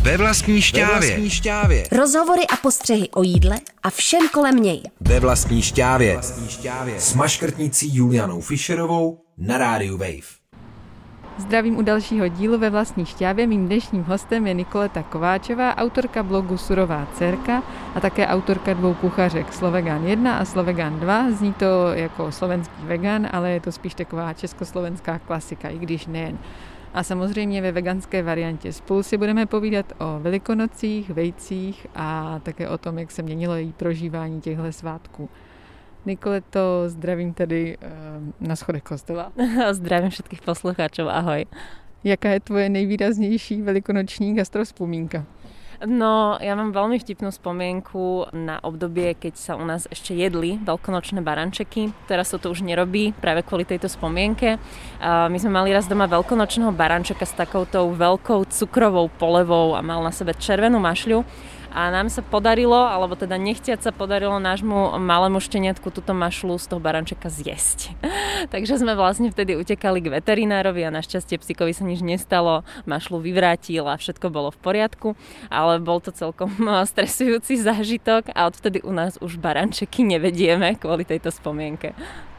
Ve vlastní šťávě. Rozhovory a postřehy o jídle a všem kolem něj. Ve vlastní šťávě. S maškrtnicí Julianou Fischerovou na rádiu Wave. Zdravím u dalšího dílu Ve vlastní šťávě. Mým dnešním hostem je Nikoleta Kováčová, autorka blogu Surová dcerka a také autorka 2 kuchařek, Slovegan 1 a Slovegan 2. Zní to jako slovenský vegan, ale je to spíš taková československá klasika, i když nejen. A samozřejmě ve veganské variantě. Spolu si budeme povídat o Velikonocích, vejcích a také o tom, jak se měnilo její prožívání těchto svátků. Nikoleto, zdravím tady na schodech kostela. Zdravím všetkých poslucháčov, ahoj. Jaká je tvoje nejvýraznější velikonoční gastrovzpomínka? No, ja mám veľmi vtipnú spomienku na obdobie, keď sa u nás ešte jedli veľkonočné barančeky. Teraz sa to už nerobí práve kvôli tejto spomienke. My sme mali raz doma veľkonočného barančeka s takoutou veľkou cukrovou polevou a mal na sebe červenú mašľu. A nám sa podarilo, alebo teda nechtiac sa podarilo nášmu malému šteniatku túto mašľu z toho barančeka zjesť. Takže sme vlastne vtedy utekali k veterinárovi a našťastie psíkovi sa nič nestalo, mašľu vyvrátil a všetko bolo v poriadku, ale bol to celkom stresujúci zážitok a odvtedy u nás už barančeky nevedieme kvôli tejto spomienke.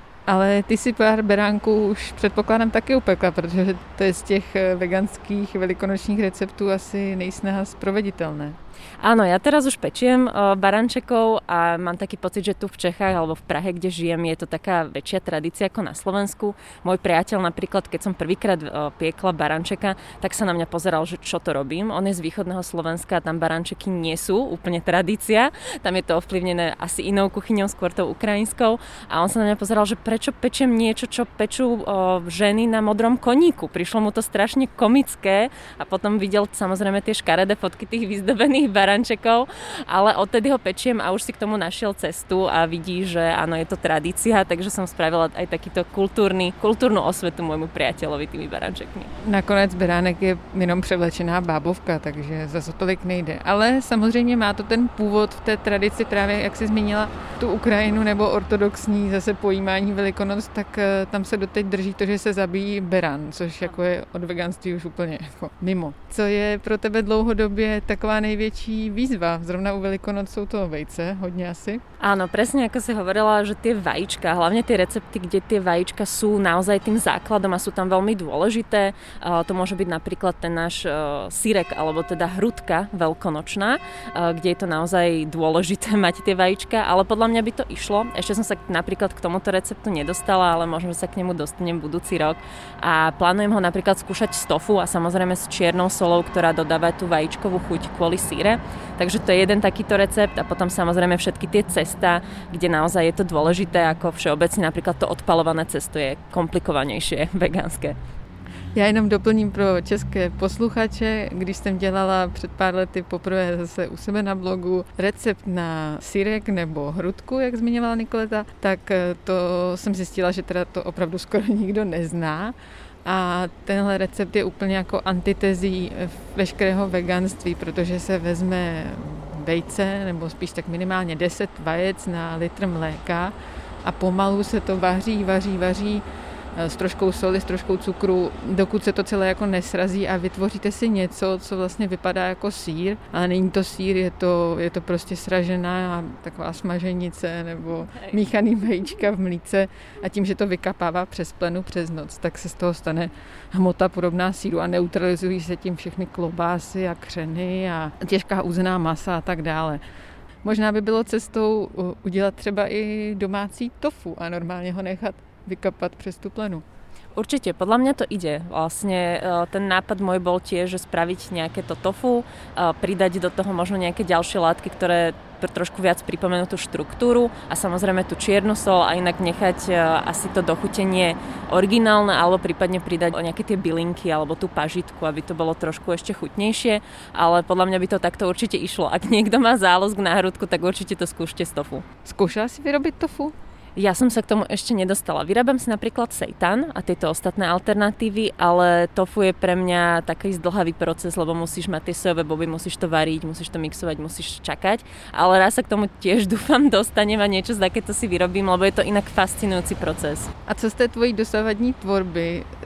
Ale ty si pár beránků už předpokládám taky upekla, protože to je z těch veganských velikonočních receptů asi nejsnáha sproveditelné. Áno, ja teraz už pečiem barančekov a mám taký pocit, že tu v Čechách alebo v Prahe, kde žijem, je to taká väčšia tradícia ako na Slovensku. Môj priateľ napríklad, keď som prvýkrát piekla barančeka, tak sa na mňa pozeral, že čo to robím. On je z východného Slovenska a tam barančeky nie sú úplne tradícia. Tam je to ovplyvnené asi inou kuchyňou, skôr tou ukrajinskou. A on sa na mňa pozeral, že prečo pečiem niečo, čo pečú ženy na modrom koníku. Prišlo mu to strašne komické a potom videl samozrejme tie škaredé fotky tých vyzdobených barančekov, ale odtedy ho pečiem a už si k tomu našiel cestu a vidí, že áno, je to tradícia, takže som spravila aj takýto kultúrnu osvetu môjmu priateľovi tými barančekmi. Nakonec beránek je jenom převlečená bábovka, takže zase tolik nejde. Ale samozřejmě má to ten původ v té tradici, právě jak jsi zmínila tu Ukrajinu nebo ortodoxní zase pojímání Velikonoc, tak tam se doteď drží to, že se zabíjí beran, což jako je od veganství už úplně jako mimo. Co je pro tebe dlouhodobě taková největší výzva? Zrovna u Velikonoc sú to vejce, hodne asi. Áno, presne ako si hovorila, že tie vajíčka, hlavne tie recepty, kde tie vajíčka sú naozaj tým základom a sú tam veľmi dôležité. To môže byť napríklad ten náš syrek, alebo teda hrudka veľkonočná, kde je to naozaj dôležité mať tie vajíčka, ale podľa mňa by to išlo. Ešte som sa napríklad k tomuto receptu nedostala, ale možno sa k nemu dostanem budúci rok. A plánujem ho napríklad skúšať z tofu a samozrejme s čiernou solou, ktorá dodáva tú vajíčkovú chuť kvôli síre. Takže to je jeden takýto recept a potom samozrejme všetky tie cesta, kde naozaj je to dôležité, ako všeobecne napríklad to odpalované cesto je komplikovanejšie vegánské. Já jenom doplním pro české posluchače, když jsem dělala před pár lety poprvé zase u sebe na blogu recept na syrek nebo hrudku, jak zmiňovala Nikoleta, tak to jsem zjistila, že teda to opravdu skoro nikdo nezná. A tenhle recept je úplně jako antitezí veškerého veganství, protože se vezme vejce, nebo spíš tak minimálně 10 vajec na litr mléka a pomalu se to vaří s troškou soli, s troškou cukru, dokud se to celé jako nesrazí a vytvoříte si něco, co vlastně vypadá jako sýr, ale není to sýr, je to prostě sražená taková smaženice nebo míchaný vajíčka v mlíce a tím, že to vykapává přes plenu přes noc, tak se z toho stane hmota podobná sýru a neutralizují se tím všechny klobásy a křeny a těžká uzená masa a tak dále. Možná by bylo cestou udělat třeba i domácí tofu a normálně ho nechat vykapat přes tú plenu. Určite, podľa mňa to ide. Vlastne ten nápad môj bol tiež, že spraviť nejaké to tofu, pridať do toho možno nejaké ďalšie látky, ktoré trošku viac pripomenú tú štruktúru a samozrejme tú čiernu sol a inak nechať asi to dochutenie originálne alebo prípadne pridať nejaké tie bylinky alebo tú pažitku, aby to bolo trošku ešte chutnejšie, ale podľa mňa by to takto určite išlo. Ak niekto má záľusk na hrudku, tak určite to skúšte z tofu. Skúšala si vyrobiť tofu? Ja som sa k tomu ešte nedostala. Vyrábam si napríklad seitan a tieto ostatné alternatívy, ale tofu je pre mňa taký zdĺhavý proces, lebo musíš mať tie sojové boby, musíš to variť, musíš to mixovať, musíš čakať. Ale raz sa k tomu tiež dúfam dostanem a niečo takéto si vyrobím, lebo je to inak fascinujúci proces. A co z té tvojí dosavadní tvorby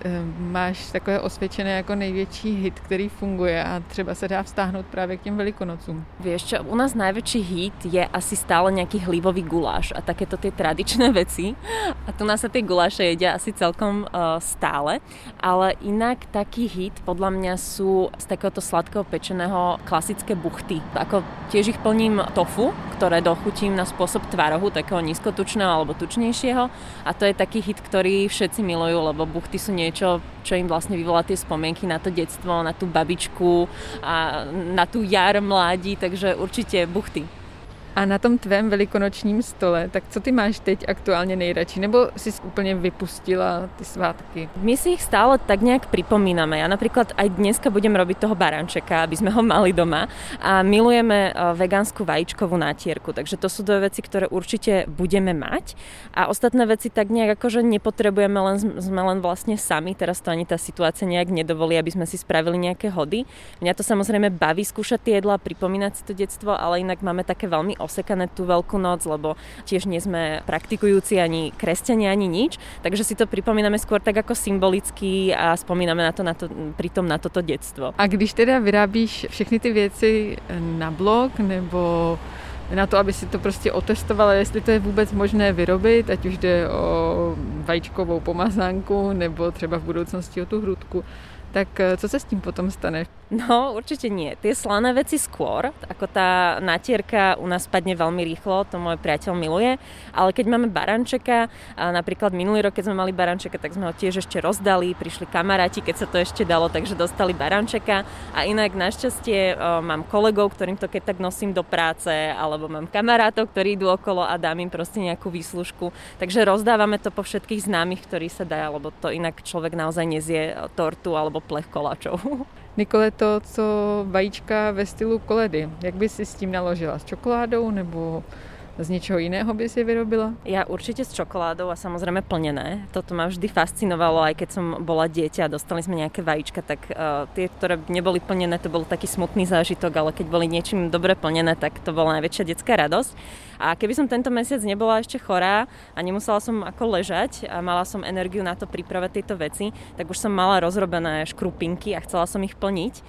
máš takové osvědčené jako největší hit, který funguje a třeba se dá vztáhnout právě k těm Velikonocům? Vieš čo, u nás najväčší hit je asi stále nejaký hlívový guláš a takéto tie tradičné veci. A tu nás sa tie guláše jedia asi celkom stále. Ale inak taký hit podľa mňa sú z takéhoto sladkého pečeného klasické buchty. Ako tiež ich plním tofu, ktoré dochutím na spôsob tvarohu, takého nízkotučného alebo tučnejšieho. A to je taký hit, ktorý všetci milujú, lebo buchty sú niečo, čo im vlastne vyvolá tie spomienky na to detstvo, na tú babičku a na tú jar mládí, takže určite buchty. A na tom tvém velikonočním stole, tak co ty máš teď aktuálně nejradši? Nebo jsi úplně vypustila ty svátky? My si ich stále tak nejak pripomíname. Ja napríklad aj dneska budem robiť toho barančeka, aby sme ho mali doma. A milujeme vegánsku vajíčkovú nátierku. Takže to sú dve veci, ktoré určite budeme mať. A ostatné veci tak nejak akože nepotrebujeme, sme len vlastne sami. Teraz to ani tá situácia nejak nedovolí, aby sme si spravili nejaké hody. Mňa to samozrejme baví skúšať tie jedlá, pripomínať si to detstvo, ale inak máme také veľmi osekané tú Veľkú noc, lebo tiež nie sme praktikujúci ani kresťania, ani nič, takže si to pripomíname skôr tak ako symbolicky a spomíname pritom na toto detstvo. A když teda vyrábíš všechny ty věci na blog nebo na to, aby si to prostě otestovala, jestli to je vůbec možné vyrobit, ať už jde o vajíčkovou pomazánku nebo třeba v budoucnosti o tu hrudku, tak co sa s tým potom stane? No, určite nie. Tie slané veci skôr, ako tá natierka u nás padne veľmi rýchlo, to môj priateľ miluje, ale keď máme barančeka, a napríklad minulý rok, keď sme mali barančeka, tak sme ho tiež ešte rozdali, prišli kamaráti, keď sa to ešte dalo, takže dostali barančeka a inak našťastie mám kolegov, ktorým to keď tak nosím do práce, alebo mám kamarátov, ktorí idú okolo a dám im proste nejakú výslužku, takže rozdávame to po všetkých známych, ktorí sa dá, lebo to inak človek naozaj nezie tortu alebo plech koláčov. Nikole, to, co vajíčka ve stylu koledy, jak by si s tím naložila? S čokoládou nebo z niečoho iného by si vyrobila? Ja určite s čokoládou a samozrejme plnené. Toto ma vždy fascinovalo, aj keď som bola dieťa a dostali sme nejaké vajíčka, tak tie, ktoré neboli plnené, to bol taký smutný zážitok, ale keď boli niečím dobre plnené, tak to bola najväčšia detská radosť. A keby som tento mesiac nebola ešte chorá a nemusela som ako ležať a mala som energiu na to pripravať tieto veci, tak už som mala rozrobené škrupinky a chcela som ich plniť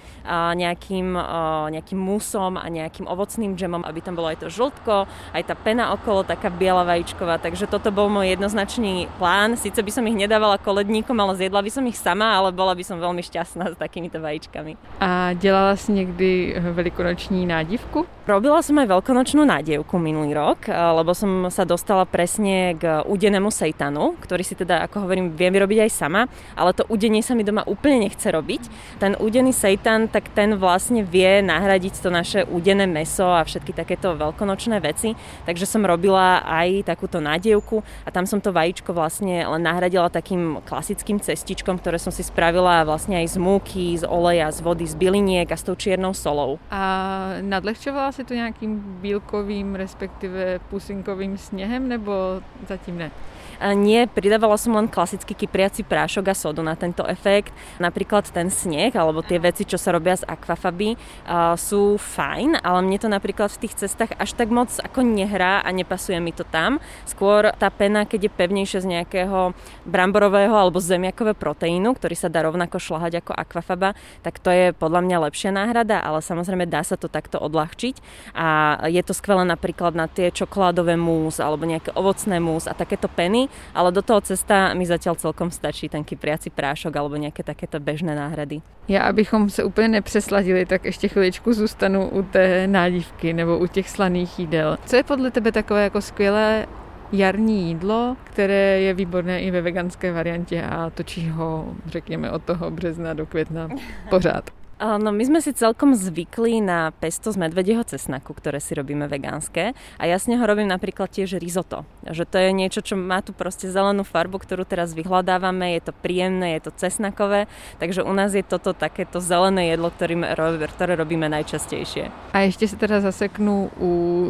nejakým musom a nejakým ovocným džemom, aby tam bolo aj to žltko, aj tá pena okolo, taká biela vajíčková. Takže toto bol môj jednoznačný plán. Sice by som ich nedávala koledníkom, ale zjedla by som ich sama, ale bola by som veľmi šťastná s takýmito vajíčkami. A dělala si niekdy velikonoční nádivku? Robila som aj veľkonočnú nádievku minulý rok, lebo som sa dostala presne k udenému sejtanu, ktorý si teda, ako hovorím, viem vyrobiť aj sama, ale to udenie sa mi doma úplne nechce robiť. Ten udený sejtan, tak ten vlastne vie nahradiť to naše udené mäso a všetky takéto veľkonočné veci, takže som robila aj takúto nádievku a tam som to vajíčko vlastne len nahradila takým klasickým cestičkom, ktoré som si spravila vlastne aj z múky, z oleja, z vody, z byliniek a s tou čiernou solou. A nadlehčovala si to nejakým bílkovým, respektíve pusinkovým snehem, nebo zatím ne? Nie, pridávala som len klasický kypriaci prášok a sodu na tento efekt. Napríklad ten sneh, alebo tie veci, čo sa robia z akvafaby, sú fajn, ale mne to napríklad v tých cestách až tak moc ako nehrá a nepasuje mi to tam. Skôr tá pena, keď je pevnejšia z nejakého bramborového alebo zemiakového proteínu, ktorý sa dá rovnako šľahať ako akvafaba, tak to je podľa mňa lepšia náhrada, ale samozrejme dá sa to takto odľahčiť a je to skvelé napríklad na tie čokoládové mús alebo nejaké ovocné mús a takéto peny, ale do toho cesta mi zatiaľ celkom stačí ten kypriaci prášok alebo nejaké takéto bežné náhrady. Já, abychom se úplně nepřesladili, tak ještě chviličku zůstanu u té nádivky nebo u těch slaných jídel. Co je podle tebe takové jako skvělé jarní jídlo, které je výborné i ve veganské variantě a točí ho, řekněme, od toho března do května pořád? No my sme si celkom zvykli na pesto z medvedieho cesnaku, ktoré si robíme vegánske a ja z neho robím napríklad tiež risotto. Že to je niečo, čo má tu proste zelenú farbu, ktorú teraz vyhľadávame, je to príjemné, je to cesnakové, takže u nás je toto takéto zelené jedlo, ktoré robíme najčastejšie. A ešte si teda zaseknu u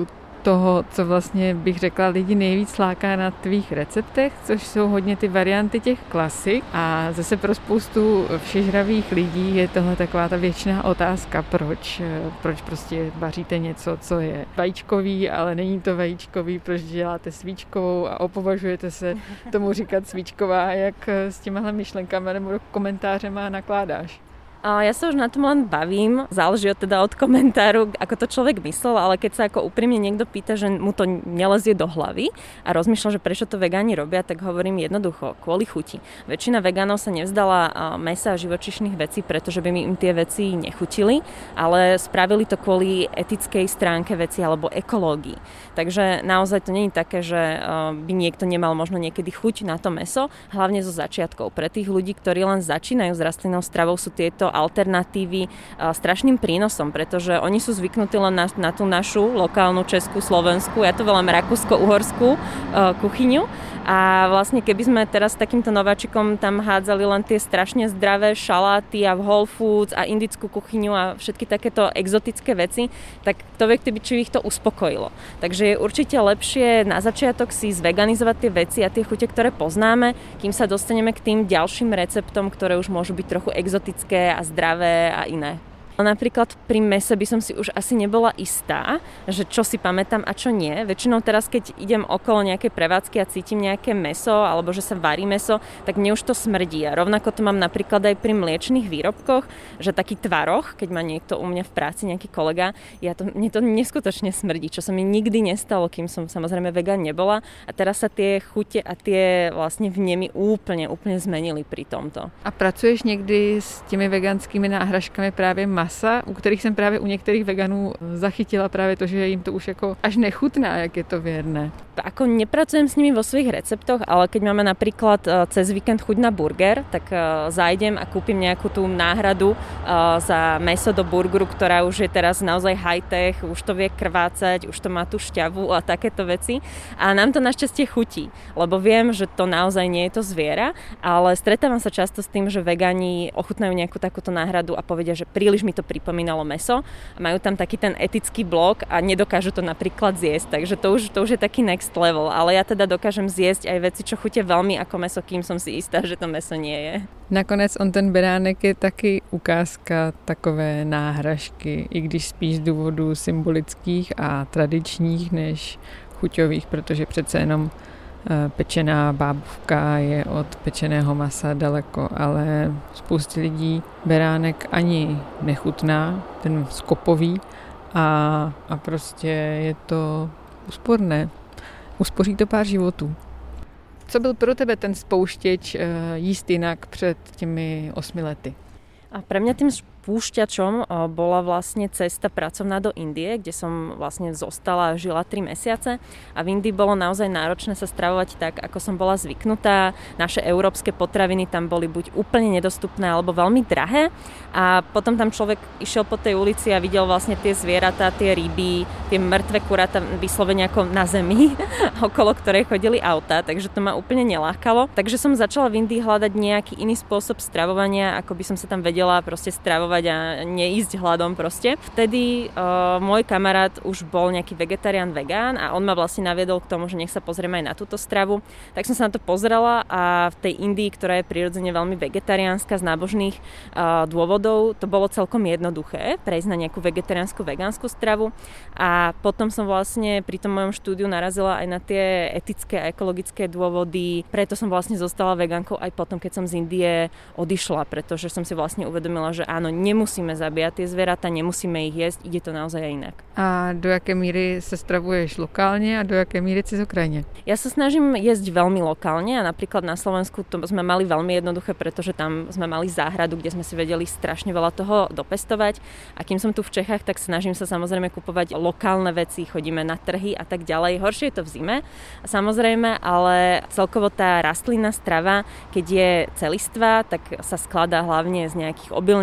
toho, co vlastně bych řekla lidi nejvíc láká na tvých receptech, což jsou hodně ty varianty těch klasik. A zase pro spoustu všežravých lidí je tohle taková ta věčná otázka, proč prostě vaříte něco, co je vajíčkový, ale není to vajíčkový, proč děláte svíčkovou a opovažujete se tomu říkat svíčková, jak s těmahle myšlenkami nebo komentářema nakládáš? Ja sa už na tom len bavím, záleží od komentáru, ako to človek myslel, ale keď sa ako úprimne niekto pýta, že mu to nelezie do hlavy a rozmýšľa, že prečo to vegáni robia, tak hovorím jednoducho, kvôli chuti. Väčšina vegánov sa nevzdala mäsa a živočíšnych vecí, pretože by im tie veci nechutili, ale spravili to kvôli etickej stránke veci alebo ekológii. Takže naozaj to nie je také, že by niekto nemal možno niekedy chuť na to mäso, hlavne zo začiatkov. Pre tých ľudí, ktorí len začínajú s rastlinnou stravou, sú tieto alternatívy strašným prínosom, pretože oni sú zvyknutí len na tú našu lokálnu českú, slovenskú, ja to volám rakúsko-uhorskú kuchyňu. A vlastne keby sme teraz takýmto nováčikom tam hádzali len tie strašne zdravé šaláty a Whole Foods a indickú kuchyňu a všetky takéto exotické veci, tak to vie, či ich to uspokojilo. Takže je určite lepšie na začiatok si zveganizovať tie veci a tie chute, ktoré poznáme, kým sa dostaneme k tým ďalším receptom, ktoré už môžu byť trochu exotické a zdravé a iné. Napríklad pri mäse by som si už asi nebola istá, že čo si pamätám a čo nie. Väčšinou teraz, keď idem okolo nejakej prevádzky a cítim nejaké mäso alebo že sa varí mäso, tak mne už to smrdí. A rovnako to mám napríklad aj pri mliečnych výrobkoch, že taký tvaroh, keď má niekto u mňa v práci, nejaký kolega, mne to neskutočne smrdí, čo sa mi nikdy nestalo, kým som samozrejme vegán nebola. A teraz sa tie chute a tie vlastne vnemy úplne zmenili pri tomto. A pracuješ někdy s těmi veganskými náhražkami právě masa, u kterých jsem právě u některých veganů zachytila právě to, že jim to už jako až nechutná, jak je to věrné. Ako nepracujem s nimi vo svojich receptoch, ale keď máme napríklad cez víkend chuť na burger, tak zájdem a kúpim nejakú tú náhradu za mäso do burgeru, ktorá už je teraz naozaj high-tech, už to vie krvácať, už to má tú šťavu a takéto veci. A nám to našťastie chutí, lebo viem, že to naozaj nie je to zviera, ale stretávam sa často s tým, že vegáni ochutnajú nejakú takúto náhradu a povedia, že príliš mi to pripomínalo mäso a majú tam taký ten etický blok a nedokážu to napríklad zjesť, takže to už je taký next level, ale ja teda dokážem zjesť aj veci, čo chutia veľmi ako mäso, kým som si istá, že to mäso nie je. Nakonec ten beránek je taky ukázka takové náhražky, i když spíš z důvodů symbolických a tradičních než chuťových, protože přece jenom pečená bábovka je od pečeného masa daleko, ale spoustě lidí beránek ani nechutná, ten skopový a prostě je to úsporné. Uspoří to pár životů. Co byl pro tebe ten spouštěč jíst jinak před těmi 8 lety? A pre mňa tým spúšťačom bola vlastne cesta pracovná do Indie, kde som vlastne zostala a žila 3 mesiace a v Indii bolo naozaj náročné sa stravovať tak, ako som bola zvyknutá. Naše európske potraviny tam boli buď úplne nedostupné alebo veľmi drahé a potom tam človek išiel po tej ulici a videl vlastne tie zvieratá, tie ryby, tie mŕtve kuráta vyslovene ako na zemi, okolo ktorej chodili autá, takže to ma úplne nelákalo. Takže som začala v Indii hľadať nejaký iný spôsob stravovania, ako by som sa tam vedela proste stravovať a neísť hladom proste. Vtedy môj kamarát už bol nejaký vegetarián, vegán a on ma vlastne naviedol k tomu, že nech sa pozrieme aj na túto stravu. Tak som sa na to pozrela a v tej Indii, ktorá je prirodzene veľmi vegetariánska z nábožných dôvodov, to bolo celkom jednoduché prejsť na nejakú vegetariánsku, vegánsku stravu a potom som vlastne pri tom mojom štúdiu narazila aj na tie etické a ekologické dôvody. Preto som vlastne zostala vegánkou aj potom, keď som z Indie odišla, pretože som si vlastne uvedomila, že áno, nemusíme zabíjať tie zvieratá, nemusíme ich jesť, ide to naozaj aj inak. A do jaké míry sa stravuješ lokálne a do jaké míry cez okrajine? Ja sa snažím jesť veľmi lokálne a napríklad na Slovensku to sme mali veľmi jednoduché, pretože tam sme mali záhradu, kde sme si vedeli strašne veľa toho dopestovať a kým som tu v Čechách, tak snažím sa samozrejme kupovať lokálne veci, chodíme na trhy a tak ďalej. Horšie je to v zime, samozrejme, ale celkovo tá rastlinná strava, keď je celistvá, tak sa skladá hlavne z nejakých obilnín, strukovín,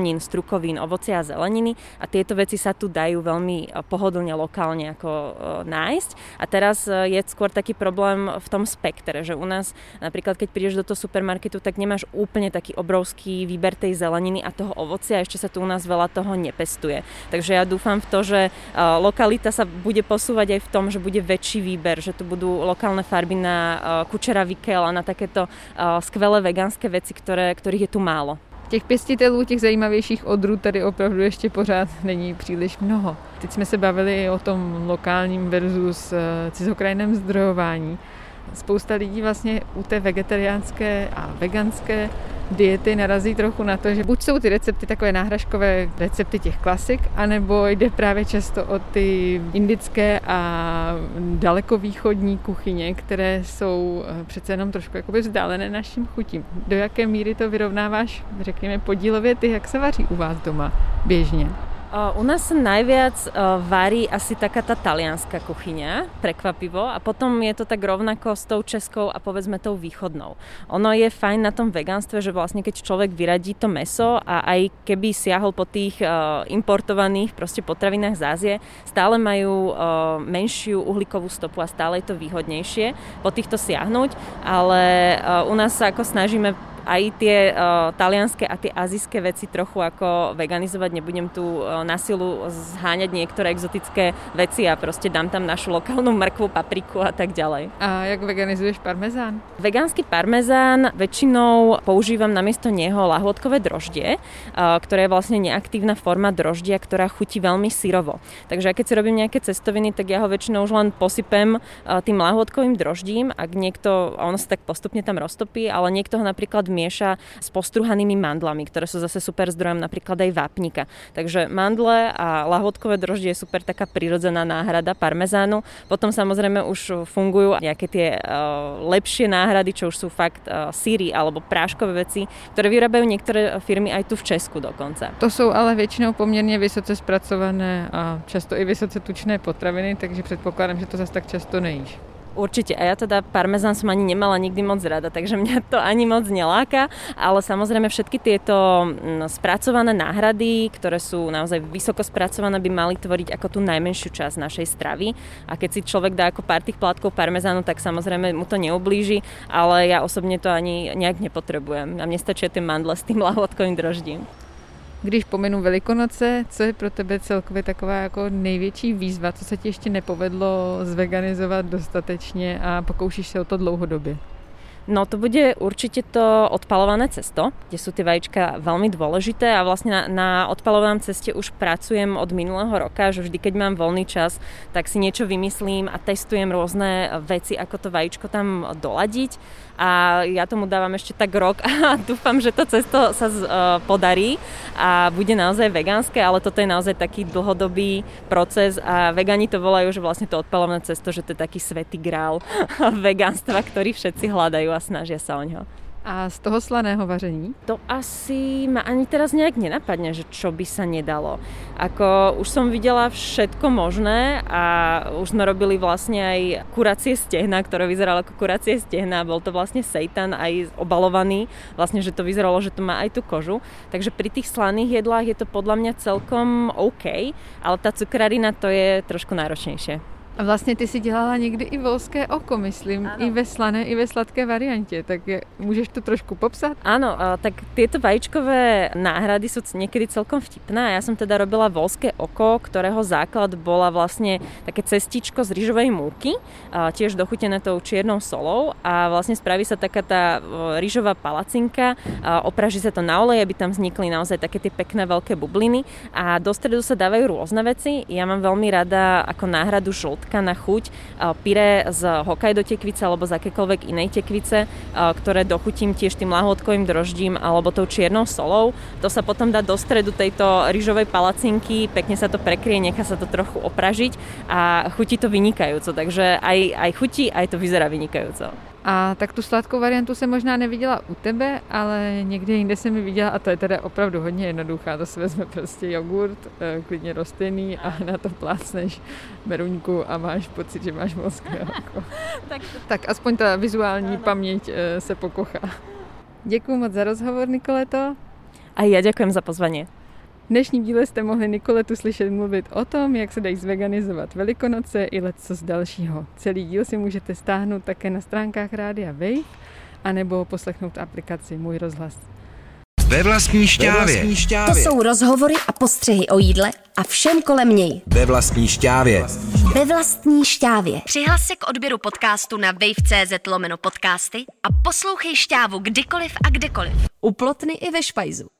bielkovín, ovocia a zeleniny a tieto veci sa tu dajú veľmi pohodlne lokálne ako nájsť. A teraz je skôr taký problém v tom spektre, že u nás napríklad keď prídeš do toho supermarketu, tak nemáš úplne taký obrovský výber tej zeleniny a toho ovocia, ešte sa tu u nás veľa toho nepestuje. Takže ja dúfam v to, že lokalita sa bude posúvať aj v tom, že bude väčší výber, že tu budú lokálne farby na kučera vikel a na takéto skvelé vegánske veci, ktorých je tu málo. Těch pěstitelů, těch zajímavějších odrůd tady opravdu ještě pořád není příliš mnoho. Teď jsme se bavili o tom lokálním versus cizokrajném zdrojování. Spousta lidí vlastně u té vegetariánské a veganské diety narazí trochu na to, že buď jsou ty recepty takové náhražkové recepty těch klasik, anebo jde právě často o ty indické a dalekovýchodní kuchyně, které jsou přece jenom trošku jakoby vzdálené našim chutím. Do jaké míry to vyrovnáváš, řekněme, podílově ty, jak se vaří u vás doma běžně? U nás sa najviac varí asi taká tá talianská kuchyňa, prekvapivo, a potom je to tak rovnako s tou českou a povedzme tou východnou. Ono je fajn na tom vegánstve, že vlastne keď človek vyradí to mäso a aj keby siahol po tých importovaných proste potravinách z Ázie, stále majú menšiu uhlíkovú stopu a stále je to výhodnejšie po týchto siahnuť, ale u nás sa ako snažíme aj tie talianske a tie azijské veci trochu ako veganizovať. Nebudem tu na silu zháňať niektoré exotické veci a proste dám tam našu lokálnu mrkvu, papriku a tak ďalej. A jak veganizuješ parmezán? Vegánsky parmezán väčšinou používam namiesto neho lahôdkové droždie, ktoré je vlastne neaktívna forma droždia, ktorá chutí veľmi syrovo. Takže keď si robím nejaké cestoviny, tak ja ho väčšinou už len posypem tým lahôdkovým droždím, ak niekto, ono sa tak postupne tam roztopí, ale niekto ho napríklad mieša s postruhanými mandlami, ktoré sú zase super zdrojom napríklad aj vápnika. Takže mandle a lahôdkové droždie je super taká prirodzená náhrada parmezánu. Potom samozrejme už fungujú nejaké tie lepšie náhrady, čo už sú fakt syry alebo práškové veci, ktoré vyrábajú niektoré firmy aj tu v Česku dokonca. To sú ale väčšinou poměrně vysoce spracované a často i vysoce tučné potraviny, takže předpokládám, že to zase tak často nejíš. Určite. A ja teda parmezán som ani nemala nikdy moc rada, takže mňa to ani moc neláka, ale samozrejme všetky tieto spracované náhrady, ktoré sú naozaj vysoko spracované, by mali tvoriť ako tú najmenšiu časť našej stravy. A keď si človek dá ako pár tých plátkov parmezánu, tak samozrejme mu to neublíži, ale ja osobne to ani nejak nepotrebujem. A mne stačia tie mandle s tým lahôdkovým droždím. Když pomenu Velikonoce, co je pro tebe celkově taková jako největší výzva, co se ti ještě nepovedlo zveganizovat dostatečně a pokoušíš se o to dlouhodobě? No to bude určite to odpalované cesto, kde sú tie vajíčka veľmi dôležité a vlastne na odpalovanom ceste už pracujem od minulého roka, že vždy keď mám voľný čas, tak si niečo vymyslím a testujem rôzne veci, ako to vajíčko tam doladiť a ja tomu dávam ešte tak rok a dúfam, že to cesto sa podarí a bude naozaj vegánske, ale toto je naozaj taký dlhodobý proces a vegani to volajú, že vlastne to odpalované cesto, že to je taký svätý grál vegánstva, ktorý všetci hľadajú a snažia sa o ňo. A z toho slaného vaření? To asi ma ani teraz nejak nenapadne, že čo by sa nedalo. Ako už som videla všetko možné a už sme robili vlastne aj kuracie stehna, ktoré vyzeralo ako kuracie stehna. Bol to vlastne seitan aj obalovaný, vlastne, že to vyzeralo, že to má aj tú kožu. Takže pri tých slaných jedlách je to podľa mňa celkom OK, ale tá cukrarina to je trošku náročnejšie. A vlastně ty si dělala někdy i volské oko, myslím, ano. I ve slané, i ve sladké variantě, tak můžeš to trošku popsat? Áno, tak tieto vajíčkové náhrady sú niekedy celkom vtipné. Ja som teda robila volské oko, ktorého základ bola vlastne také cestičko z rýžovej múky, tiež dochutené tou čiernou solou a vlastne spraví sa taká tá rýžová palacinka, opraží sa to na olej, aby tam vznikli naozaj také tie pekné veľké bubliny a do stredu sa dávajú rôzne veci. Ja mám veľmi rada ako náhradu žltka na chuť pyré z Hokkaido tekvice alebo z akékoľvek inej tekvice, ktoré dochutím tiež tým lahôdkovým droždím alebo tou čiernou solou. To sa potom dá do stredu tejto rýžovej palacinky, pekne sa to prekrie, nechá sa to trochu opražiť a chutí to vynikajúco, takže aj chutí, aj to vyzerá vynikajúco. A tak tu sladkou variantu jsem možná neviděla u tebe, ale někde jinde jsem ji viděla a to je teda opravdu hodně jednoduchá. To si vezme prostě jogurt, klidně rostlinný a na to plácneš meruňku a máš pocit, že máš volské oko. Tak aspoň ta vizuální paměť se pokochá. Děkuju moc za rozhovor, Nikoleto. A ja ďakujem za pozvanie. dnešním díle jste mohli Nikoletu slyšet mluvit o tom, jak se dají zveganizovat Velikonoce i lecos dalšího. Celý díl si můžete stáhnout také na stránkách Rádia Wave, anebo poslechnout aplikaci Můj rozhlas. Ve vlastní šťávě. To jsou rozhovory a postřehy o jídle a všem kolem něj. Ve vlastní šťávě. Ve vlastní šťávě. Přihlas se k odběru podcastu na wave.cz/podcasty a poslouchej Šťávu kdykoliv a kdekoliv. U Plotny i ve Špajzu.